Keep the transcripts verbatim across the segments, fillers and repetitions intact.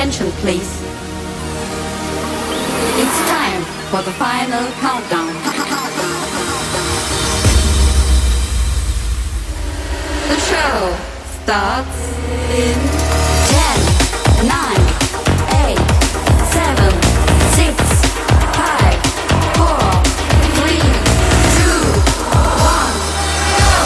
attention, please. It's time for the final countdown. The show starts in ten, nine, eight, seven, six, five, four, three, two, one, go!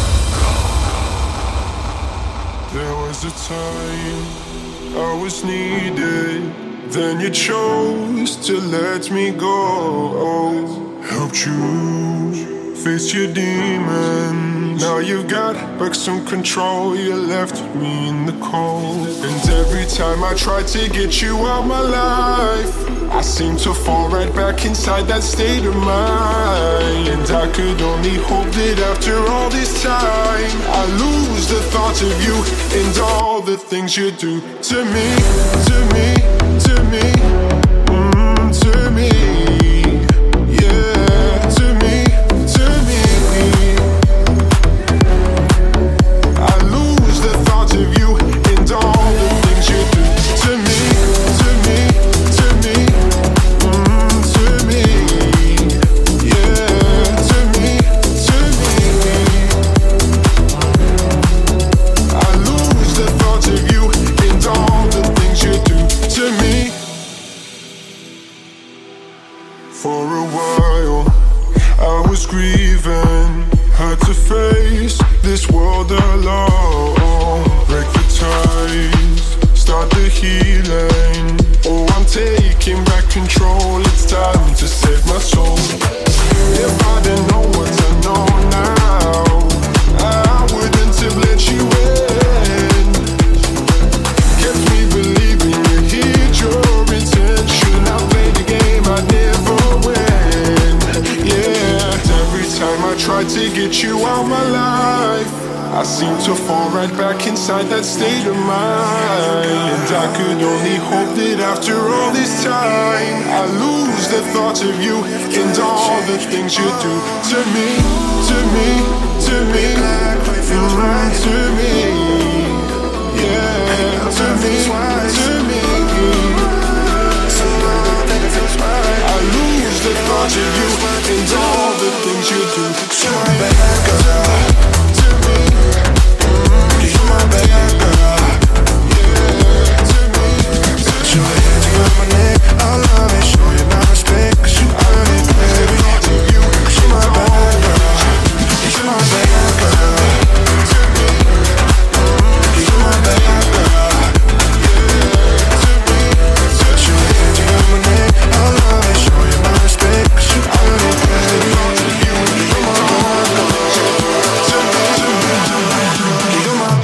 There was a time I was needed, then you chose to let me go. Helped you face your demons. Now you've got back some control. You left me in the cold. And every time I tried to get you out my life, I seem to fall right back inside that state of mind. And I could only hope that after all this time I lose the thought of you and all the things you do to me, to me, to me, mm, to me, yeah, to me, to me. I lose the thought of you and all the things you do to me, to me, to me, mm, to me, yeah, to me, to me. I lose the thought of you and all the things you do to me. For a while I was grieving, had to face this world alone. Break the ties, start the healing. Oh, I'm taking back control. It's time to save my soul. If I didn't know what I know now, I wouldn't have let you in. Kept me believing you hid your intention. I played the game I never win. Yeah, every time I tried to get you out my life, I seem to fall right back inside that state of mind. And I could only hope that after all this time I lose the thought of you and all the things you do to me, to me, to me, mm, to me, yeah, to me, to me. I lose the thought of you and all the things you do to me, to me, you're my bad girl, yeah, to me. Put your hands around my neck, I love it, show you my respect, 'cause you earn it, baby. Cause you're my bad girl, you're my bad girl, to me, you're my bad girl, yeah, to me. Put your hands around my neck, I love it, show you my respect, 'cause you earn it, baby. You're my bad girl, to me, you're my.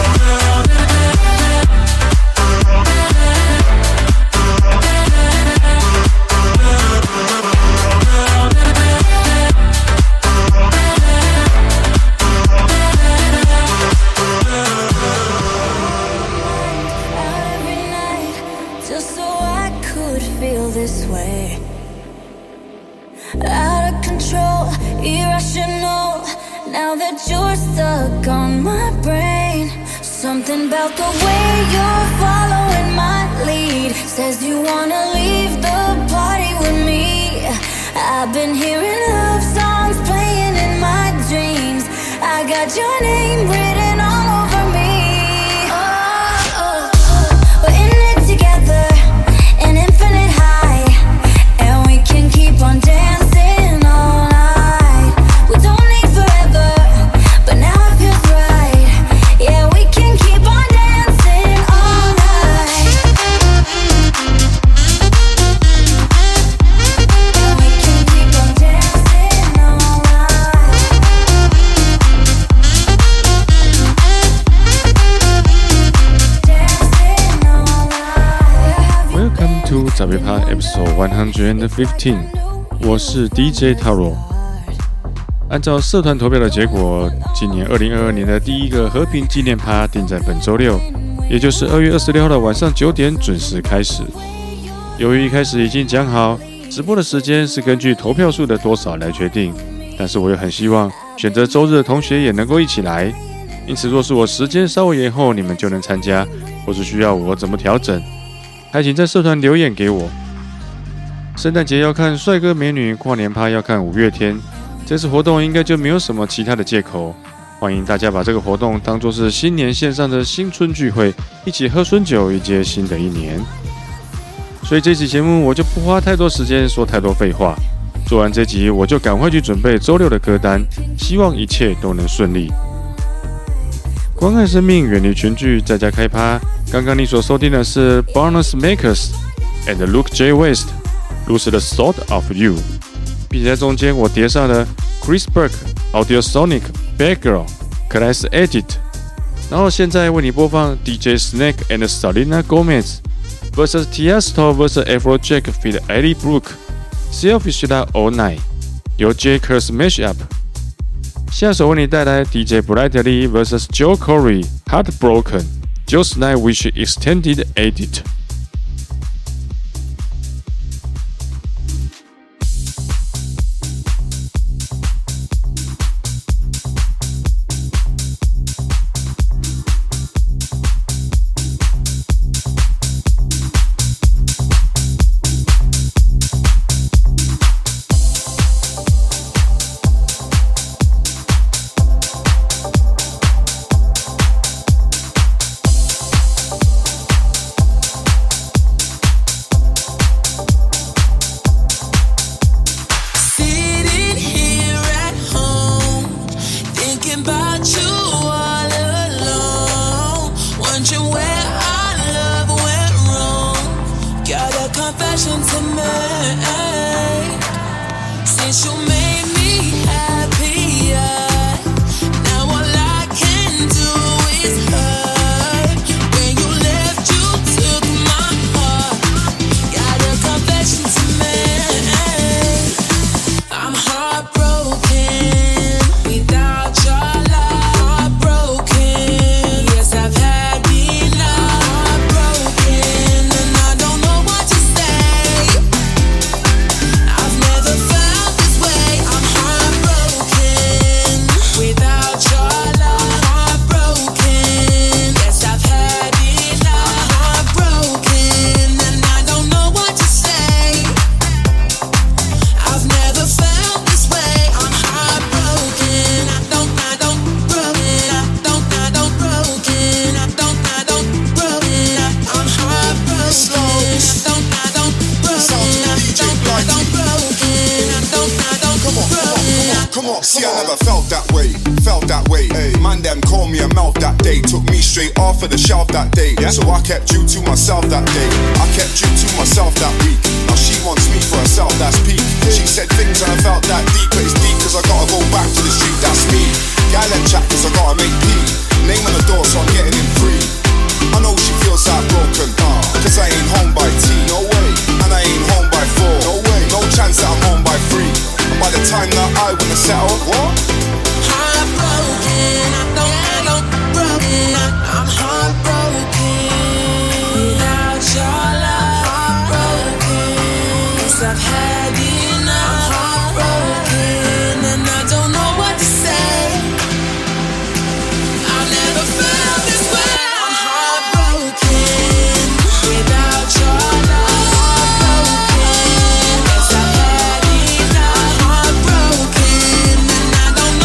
Every night, just so I could feel this way. Out of control, irrational. Now that you're stuck on my brain, something about the way you're following my lead says you wanna leave the party with me. I've been hearing love songs playing in my dreams. I got your name written all over me. Oh, oh, oh. We're in it together, an infinite high, and we can keep on dancing all night. We don't need forever, but now it feels right. Yeah, we can keep on dancing all night. And we can keep on dancing all night. Dancing all night. Welcome to 十月趴 Episode one hundred fifteen， 我是 D J Taro。按照社团投票的結果，今年二零二二年的第一個和平紀念趴定在本週六，也就是二月二十六號的晚上九點準時開始。由於一開始已經講好，直播的時間是根據投票數的多少來決定，但是我又很希望選擇週日的同學也能夠一起來。因此，若是我時間稍微延後，你們就能參加，或是需要我怎麼調整， 還請在社團留言給我。聖誕節要看帥哥美女，跨年趴要看五月天，這次活動應該就沒有什麼其他的借口。歡迎大家把這個活動當作是新年線上的新春聚會，一起喝春酒，迎接新的一年。所以這期節目我就不花太多時間說太多廢話，做完這集我就趕快去準備週六的歌單，希望一切都能順利。關愛生命，遠離群聚，在家開趴。剛剛你所收聽的是 Bonus Makers and Luke J. West，Lose the Thought of You， 並且在中間我疊上了 Chris Burke、Audiosonic、Bad Girl、Class Edit， 然後現在為你播放 D J Snake and Selena Gomez vs Tiesto vs Afrojack feat. Ellie Brooke，Selfish Love All Night， 由 J. Curse Mashup。下首為你帶來 D J Bradley vs Joe Corey，Heartbroken，Just Like Wish Extended Edit。 See, I never felt that way, felt that way. Ay. Man, them call me a mouth that day. Took me straight off of the shelf that day. Yeah. So I kept you to myself that day. I kept you to myself that week. Now she wants me for herself, that's peak. She said things and I felt that deep, but it's deep cause I gotta go back to the street, that's me. Guy let chat cause I gotta make pee. Name on the door so I'm getting in free. I know she feels heartbroken, uh, cause I ain't home by tea. No way. And I ain't home by four. No way. No chance that I'm home by three. And by the time that I wanna settle, what? Heartbroken, I don't, I don't, broken, I, I'm heartbroken. Without your love, heartbroken. Yes, I've had enough. I'm heartbroken, and I don't know what to say. I've never felt this way. I'm heartbroken. Without your love, heartbroken. Yes, I've had enough. I'm heartbroken, and I don't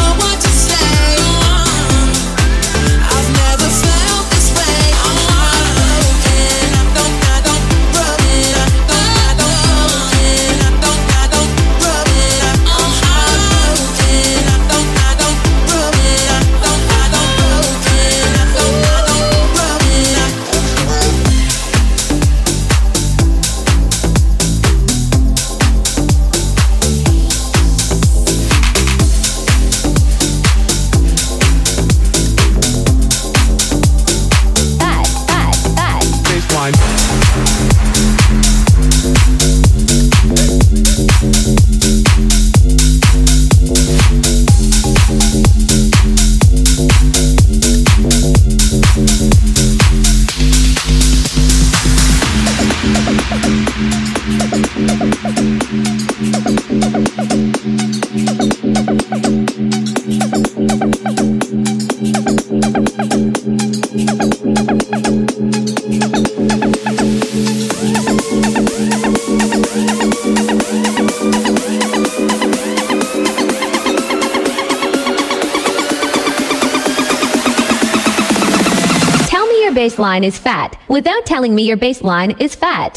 baseline is fat without telling me your baseline is fat.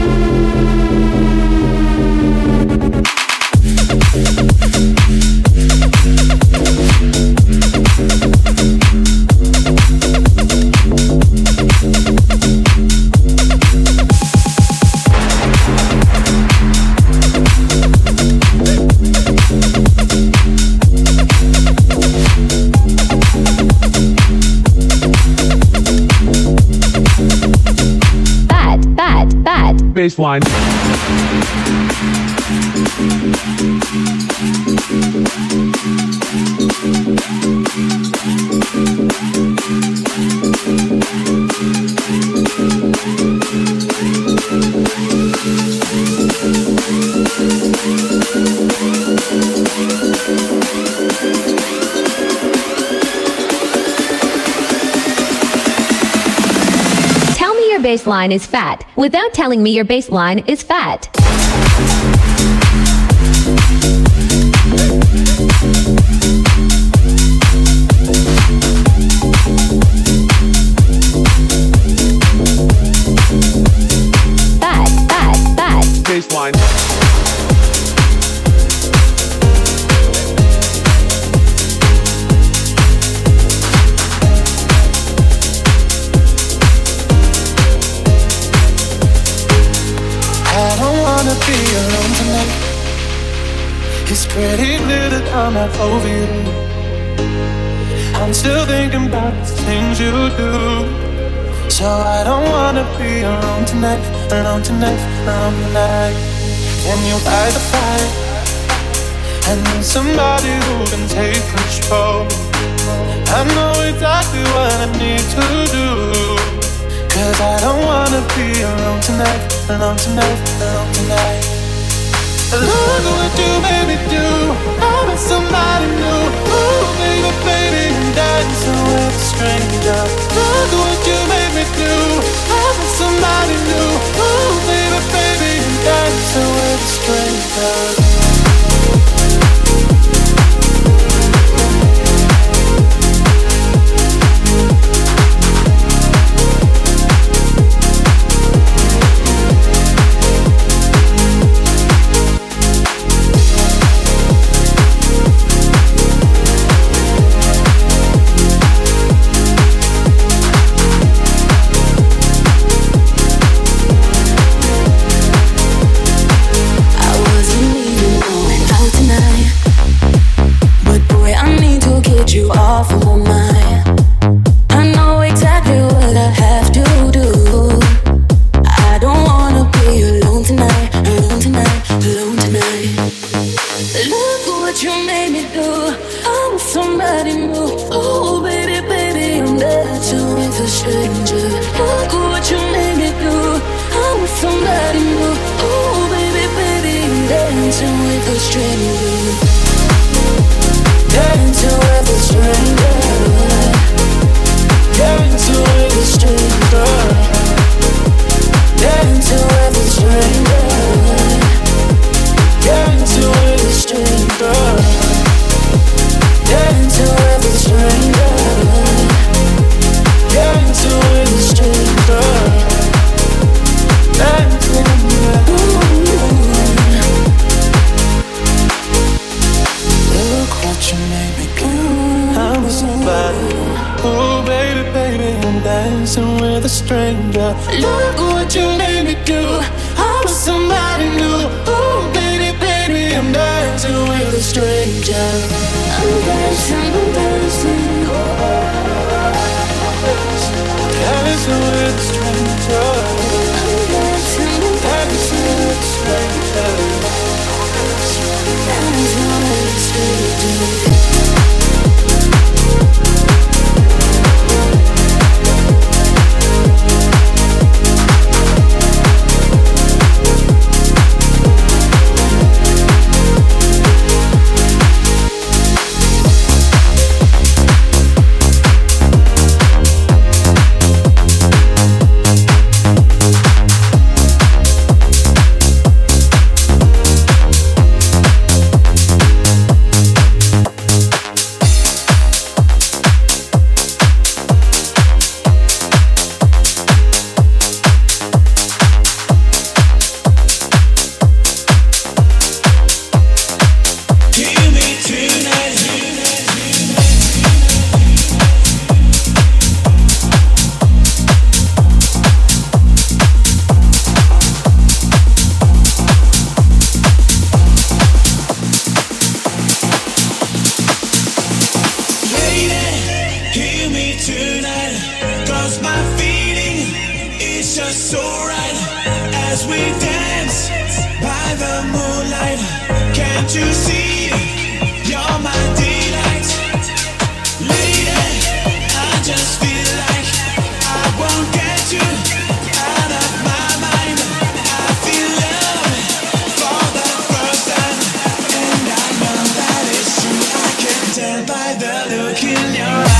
Baseline. Baseline is fat without telling me your baseline is fat. Fat, fat, fat. Baseline. Be alone tonight. It's pretty clear that I'm not over you. I'm still thinking about the things you do. So I don't wanna be alone tonight, alone tonight, alone tonight. Can you fight the fight? I need somebody who can take control. I know exactly what I need to do. Cause I don't wanna be alone tonight, alone tonight, alone tonight. Look at what you made me do. I'm with somebody new. Ooh, baby, baby, I'm dancing with a stranger. Look at what you made me do. I'm with somebody new. Ooh, baby, baby, I'm dancing with a stranger. You off of my mind. I know exactly what I have to do. I don't wanna be alone tonight, alone tonight, alone tonight. Look at what you made me do. I'm with somebody new. Oh baby, baby, I'm dancing with a stranger. Look at what you made me do. I'm with somebody new. Oh baby, baby, I'm dancing with a stranger. Dancing with a stranger. Dancing with a stranger. Dancing with a stranger. Dancing with a stranger. Dancing with a stranger. Dancing with a stranger. Dancing with a Look what you made me do. I'm with somebody. Oh baby, baby, I'm dancing with a stranger. Look what you made me do. I'm with somebody new. Oh baby, baby, I'm dancing with a stranger. I'm dancing, I'm dancing. Dancing with a stranger. I'm dancing, I'm dancing with a stranger. Dancing with a stranger. It's just so right as we dance by the moonlight. Can't you see you're my delight? Lady, I just feel like I won't get you out of my mind. I feel love for the first time, and I know that it's true. I can tell by the look in your eyes.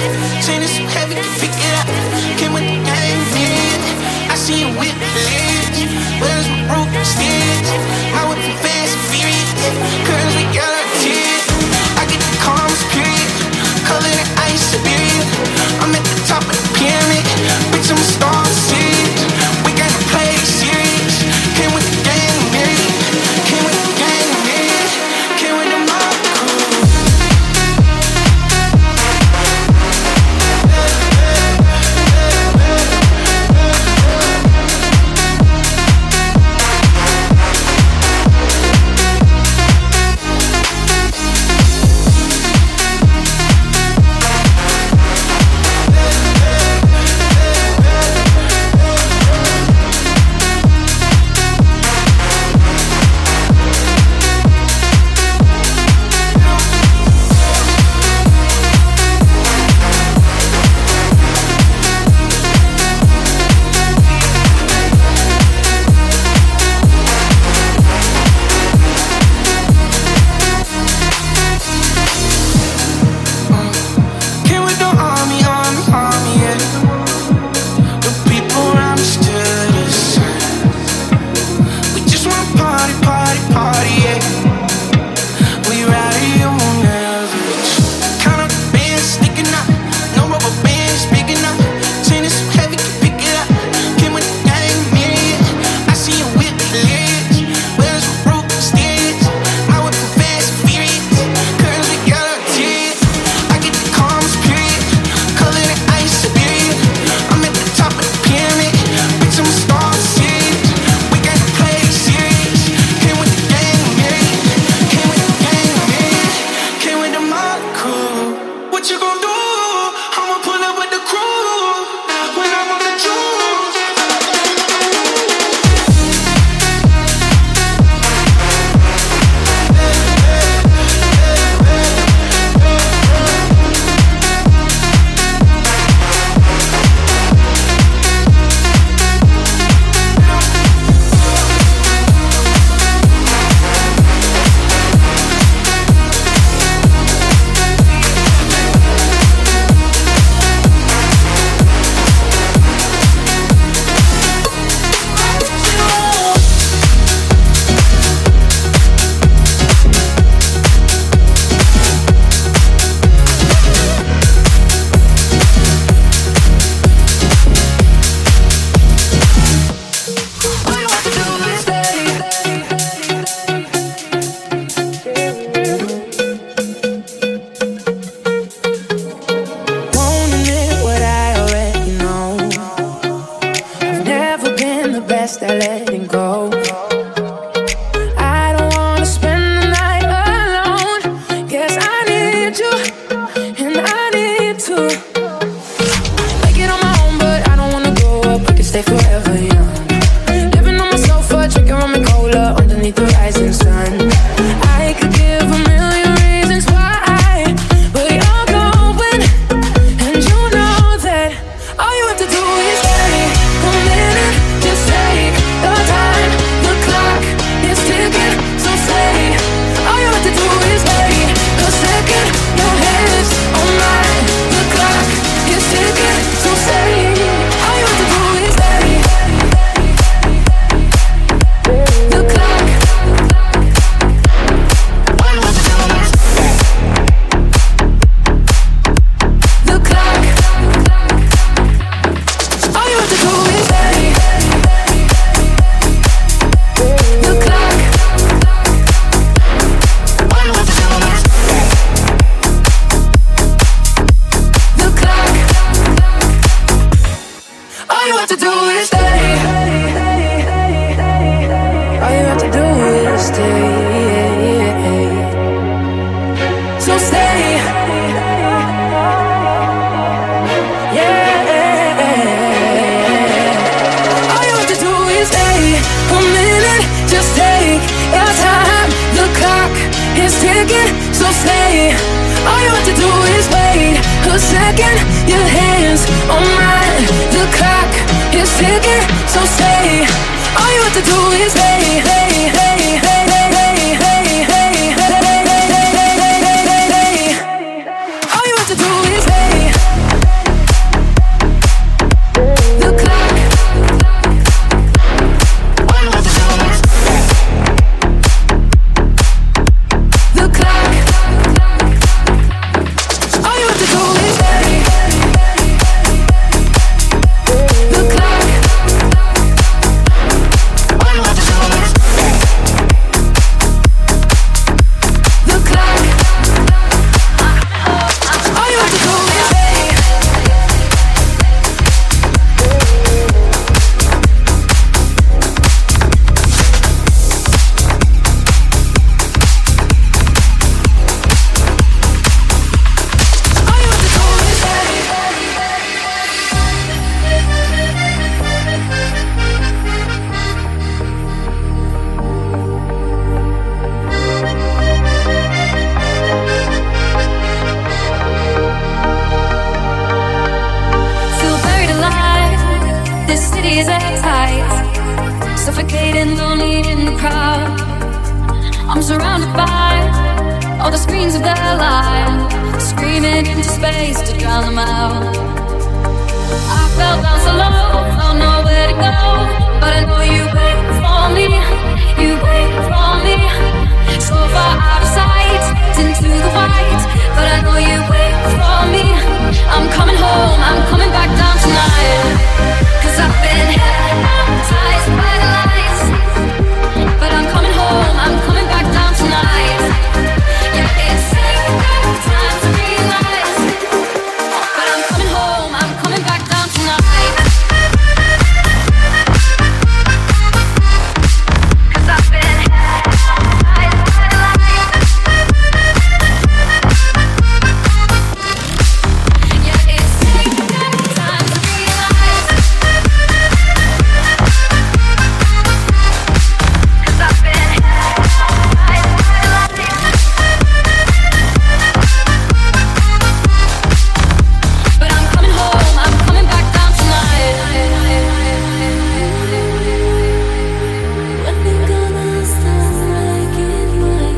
Chain is so heavy, can pick it up. Came with the gang, yeah. I see you with the legs. Where's my rope stitch? My whip from fast and furious. Curls with yellow tears. I get the calmest period. Color the ice, Siberia. I'm at the top of the pyramid. Bitch, I'm a star of the series. We gotta play serious. Came with the gang, myriad. Came with the gang, myriad. Came with the mob crew. All you have to do is hey. I'm surrounded by all the screens of their lives, screaming into space to drown them out. I fell down so low, found nowhere to go, but I know you wait for me, you wait for me. So far out of sight, into the white, but I know you wait for me. I'm coming home, I'm coming back down tonight, 'cause I've been hypnotized by the lights. But I'm coming home, I'm coming back down tonight. Yeah, it's taking time to realize, but I'm coming home, I'm coming back down tonight. 'Cause I've been hypnotized by the lights. Yeah, it's taking time to realize, 'cause I've been hypnotized by the lights. But I'm coming home, I'm coming back down tonight. When you gonna stop breaking my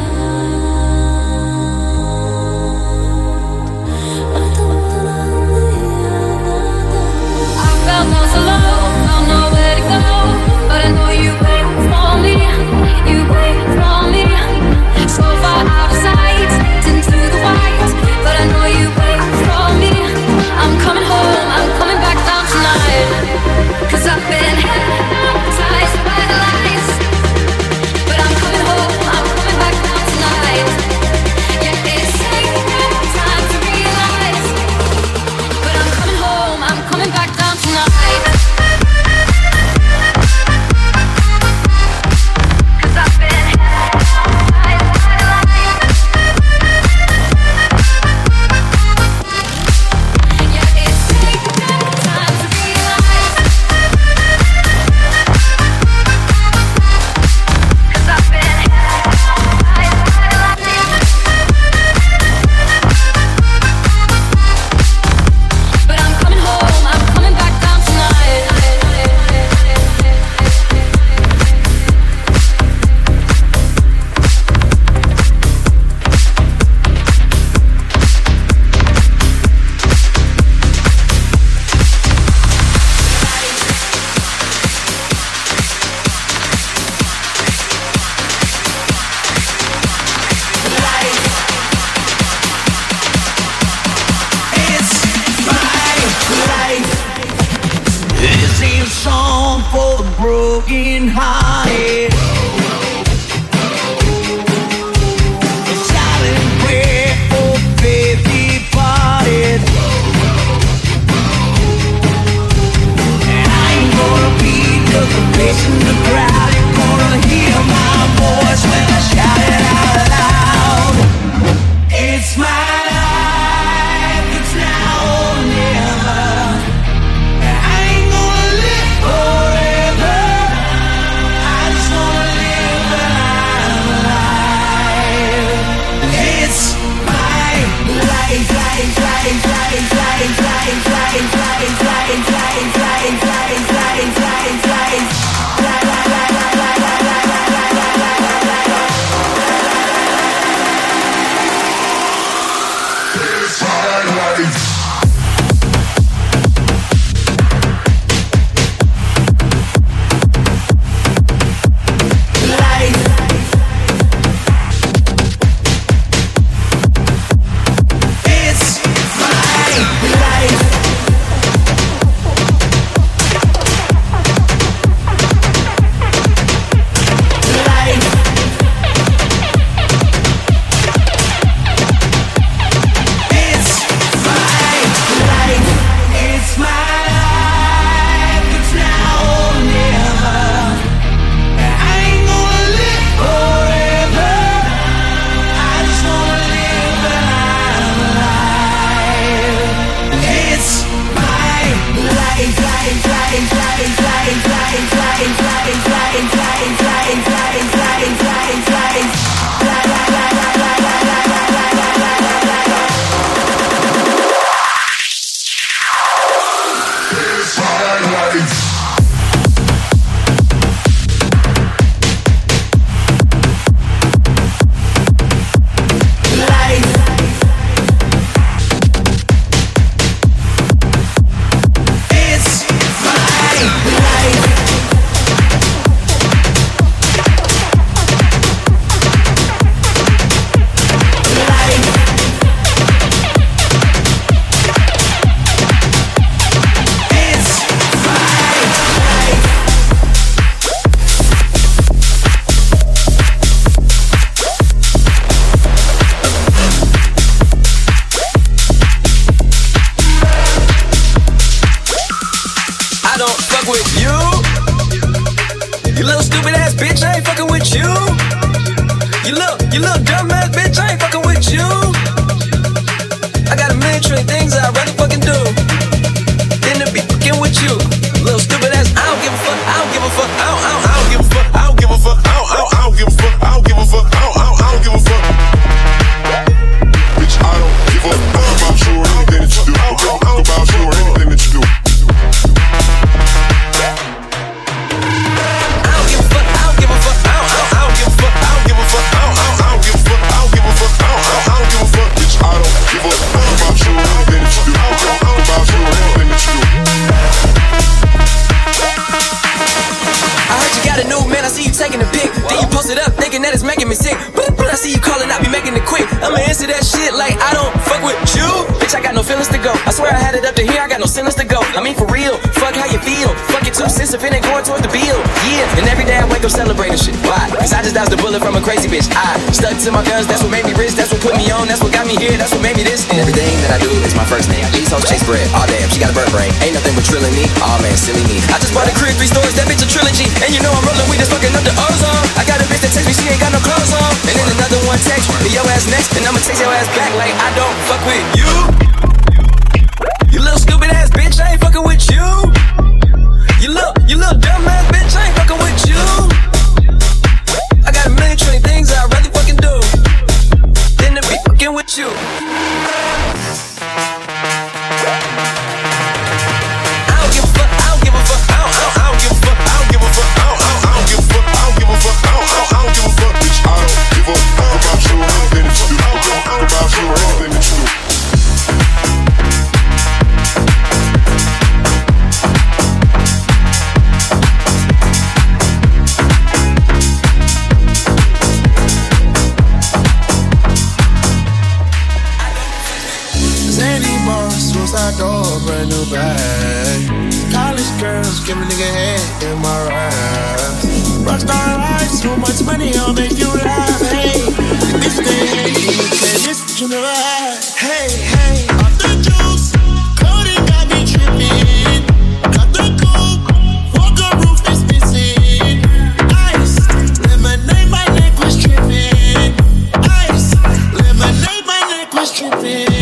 heart? I don't wanna live. I felt down so low, found nowhere to go, but I know you wait for me, you wait for me. So far out of sight, into the white, but I know you wait for me. I'm coming home, I'm coming back down tonight, 'cause I've been hypnotized by the lights. But I'm coming home, I'm coming back down tonight. Yeah, it's taking time to realize, but I'm coming home, I'm coming back down tonight. 'Cause I've been hypnotized by the lights. Yeah, it's taking time to realize, 'cause I've been hypnotized by the lights. But I'm coming home, I'm coming back down tonight. It's my life. This is a song for the broken hearted. A silent prayer for faith departed. And I ain't gonna be just a face in the crowd. You're gonna hear my voice when I shout it out loud. It's my life, it's now or never. I ain't gonna live forever. little dumbass bitch, I ain't fucking with you. I got a million trillion things I'd rather fucking do than to be fucking with you. Little stupid ass, I don't give a fuck, I don't give a fuck, I don't, I don't, I don't give a fuck, I don't give a fuck, I don't, I don't, I don't give a fuck, I don't give a fuck, I don't, I don't, I don't give a fuck. Bitch, I don't give a fuck about you or anything that you do. About you or anything that you do. I don't give a fuck, I don't give a fuck, I don't, I don't give a fuck, I don't give a fuck, I don't, I don't give a fuck, I don't give a fuck, I don't, I don't give a fuck. Bitch, I don't give a fuck about you or anything that you do. About you or anything that you do. I heard you got a new man, I see you taking a pic. Then you post it up, thinking that it's making me sick. But I see you calling, I be making it quick. I'ma answer that shit like I don't fuck with you. Bitch, I got no feelings to go. I swear I had it up to here, I got no feelings to go. I mean for real, fuck how you feel. Fuck it two cents if it ain't going towards the bill. Yeah, and every day I wake up celebrating shit. Why? Cause I just dodged a bullet from a crazy bitch. I stuck to my guns, that's what made me rich. That's what put me on, that's what got me here. That's what made me this. And everything that I do is my first name. These hoes chase bread, aw damn, she got a bird brain. Ain't nothing but trilling me, aw man, silly me. I just bought a crib, three stories, that bitch a trilogy. And you know I'm rolling, we just fucking up the ozone. I got a bitch that text me, she ain't got no clothes on. And then another one text me, your ass next. And I'ma text your ass back like I don't fuck with you. You little stupid ass bitch, I ain't fucking with you. You little, you little dumb ass bitch, I ain't fucking with you. I got a million trillion things I'd rather fucking do than to be fucking with you. I don't give a fuck, I don't give a fuck, I don't, I don't give a fuck, I don't give a fuck, I don't, I don't give a fuck, I don't give a fuck, I don't, I don't give a fuck, bitch, I don't give a fuck about you or anything that you do. About you or anything that you do. Suicide door, brand new bag. College girls, give a nigga head in my ride. Rockstar life, so much money, I'll make you laugh. Hey, this day, hey, this what you never had. Hey, hey, off the juice, coding got me tripping. Got the coupe, walker roof is missing. Ice, lemonade, my neck was tripping. Ice, lemonade, my neck was tripping.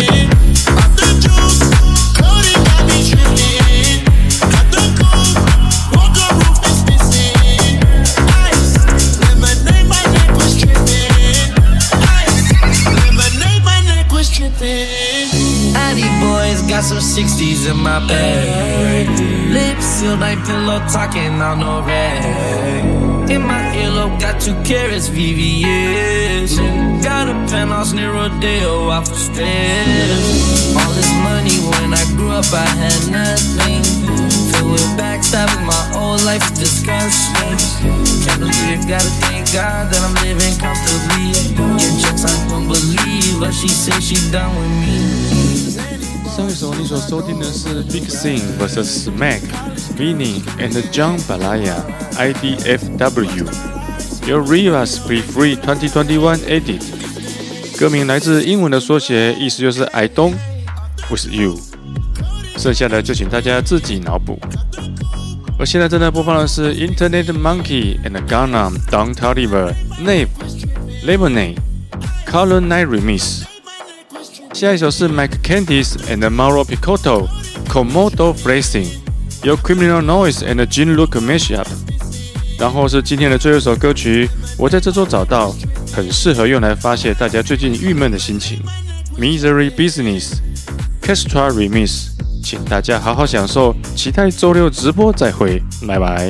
Got some sixties in my bag. Lips sealed like pillow talking on no rag. In my earlobe got two carats V V S. Got a penthouse near Rodeo off the stress. All this money when I grew up I had nothing. Filled with backstabbing, my whole life is disgusting. Can't believe it, gotta thank God that I'm living comfortably. Get checks I don't believe, but she said she done with me. 上一首你所收听的是 Big Thing versus Mac, Vinny and John Balaya I D F W Your Rivas Be Free twenty twenty-one Edit 歌名来自英文的縮寫，意思就是 I don't with you 剩下的就請大家自己腦補。而現在正在播放的是 Internet Monkey and Gangnam Don Toliver Nave Lemonade Color Night Remix。下一首是 Mike Candice and Mauro Picotto Komodo Phrasing 由 Criminal Noise and Gene Look Mashup。然後是今天的最後一首歌曲，我在這周找到很適合用來發洩大家最近鬱悶的心情 Misery Business Kestra Remix。請大家好好享受，期待周六直播再會，拜拜。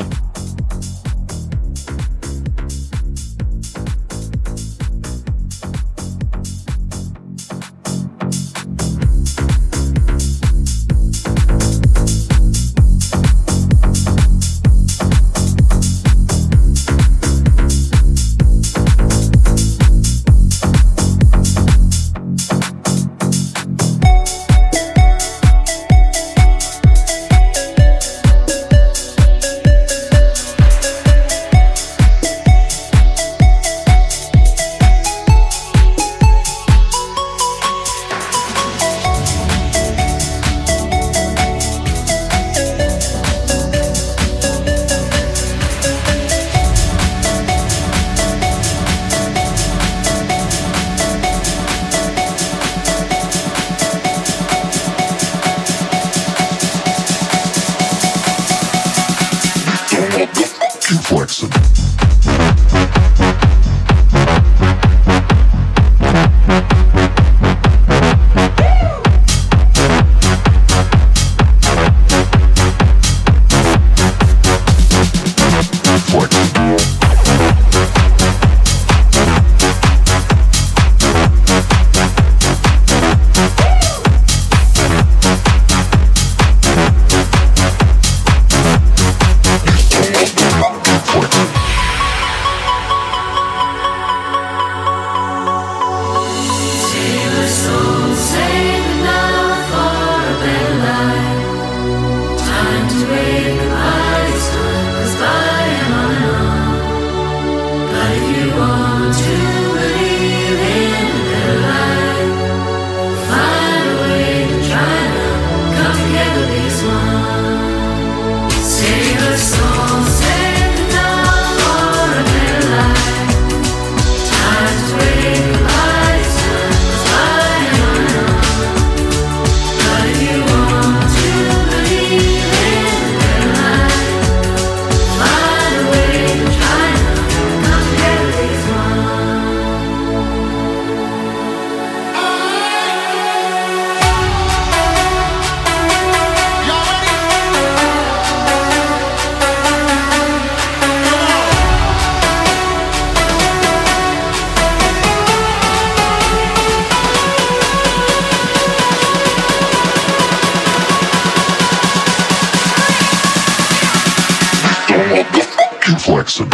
Jackson.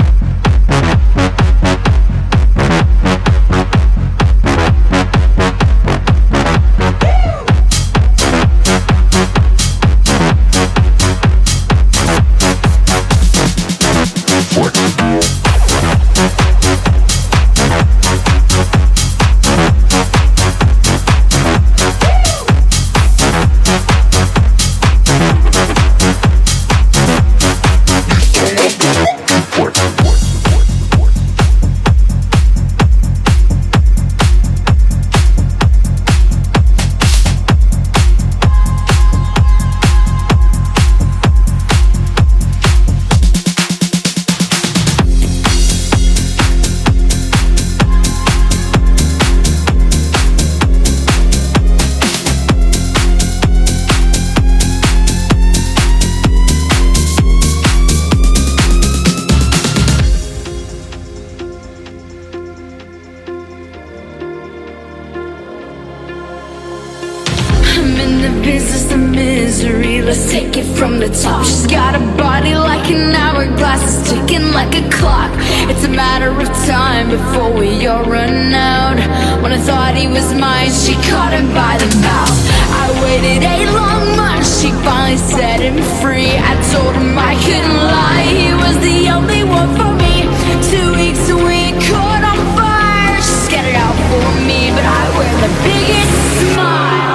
Business of misery, let's take it from the top. She's got a body like an hourglass, it's ticking like a clock. It's a matter of time before we all run out. When I thought he was mine, she caught him by the mouth. I waited eight long months, she finally set him free. I told him I couldn't lie, he was the only one for me. Two weeks and we caught on fire. She scattered out for me, but I wear the biggest smile.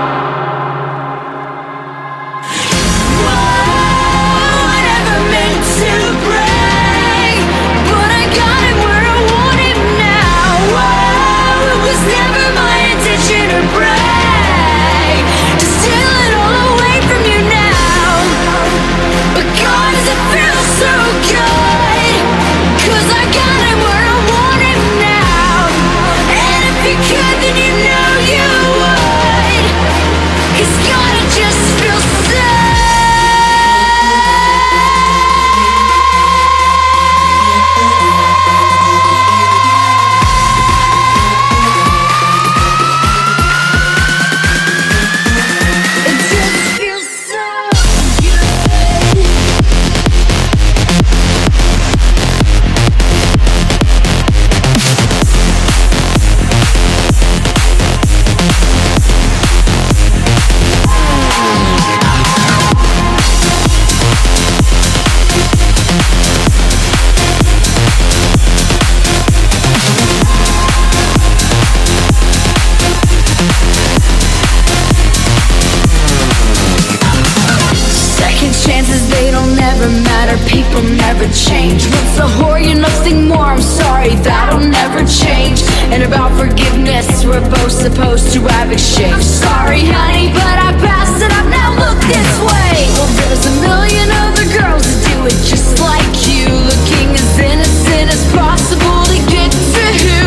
People never change. Once a whore, you're nothing more. I'm sorry, that'll never change. And about forgiveness, we're both supposed to have exchange. I'm sorry, honey, but I passed it up. Now look this way. Well, there's a million other girls that do it just like you, looking as innocent as possible to get to who